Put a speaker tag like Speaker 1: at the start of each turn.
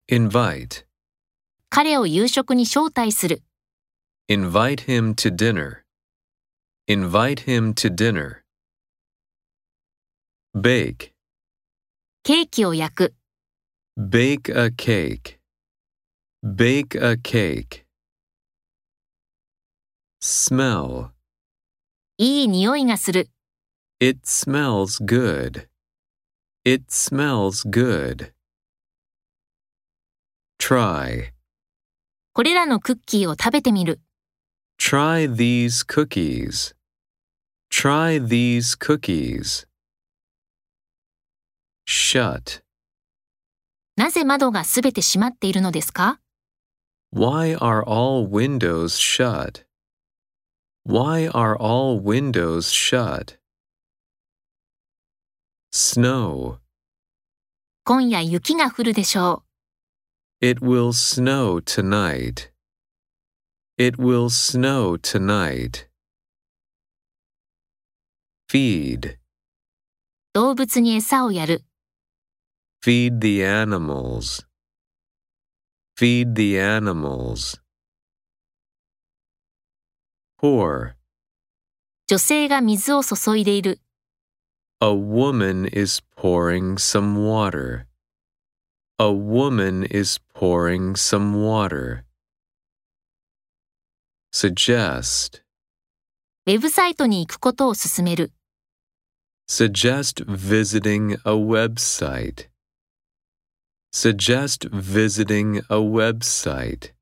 Speaker 1: invite,
Speaker 2: 彼を夕食に招待する。
Speaker 1: invite him to dinner, invite him to dinner. Bake,
Speaker 2: ケーキを焼く。
Speaker 1: bake a cake, bake a cake. Smell,
Speaker 2: いい匂いがする。
Speaker 1: it smells good, it smells good. Try,
Speaker 2: これらのクッキーを食べてみる。
Speaker 1: try these cookies, try these cookies. Shut,
Speaker 2: なぜ窓がすべて閉まっているのですか？
Speaker 1: why are all windows shut? Why are all windows shut? Snow,
Speaker 2: 今夜雪が降るでしょう。
Speaker 1: it will snow tonight. It will snow tonight. Feed,
Speaker 2: 動物に餌をやる。
Speaker 1: feed the animals. Feed the animals. Pour,
Speaker 2: 女性が水を注いでいる。
Speaker 1: a woman is pouring some water. A woman is pouring some water. Suggest,
Speaker 2: ウェブサイトに行くことを勧める。
Speaker 1: suggest visiting a website. Suggest visiting a website.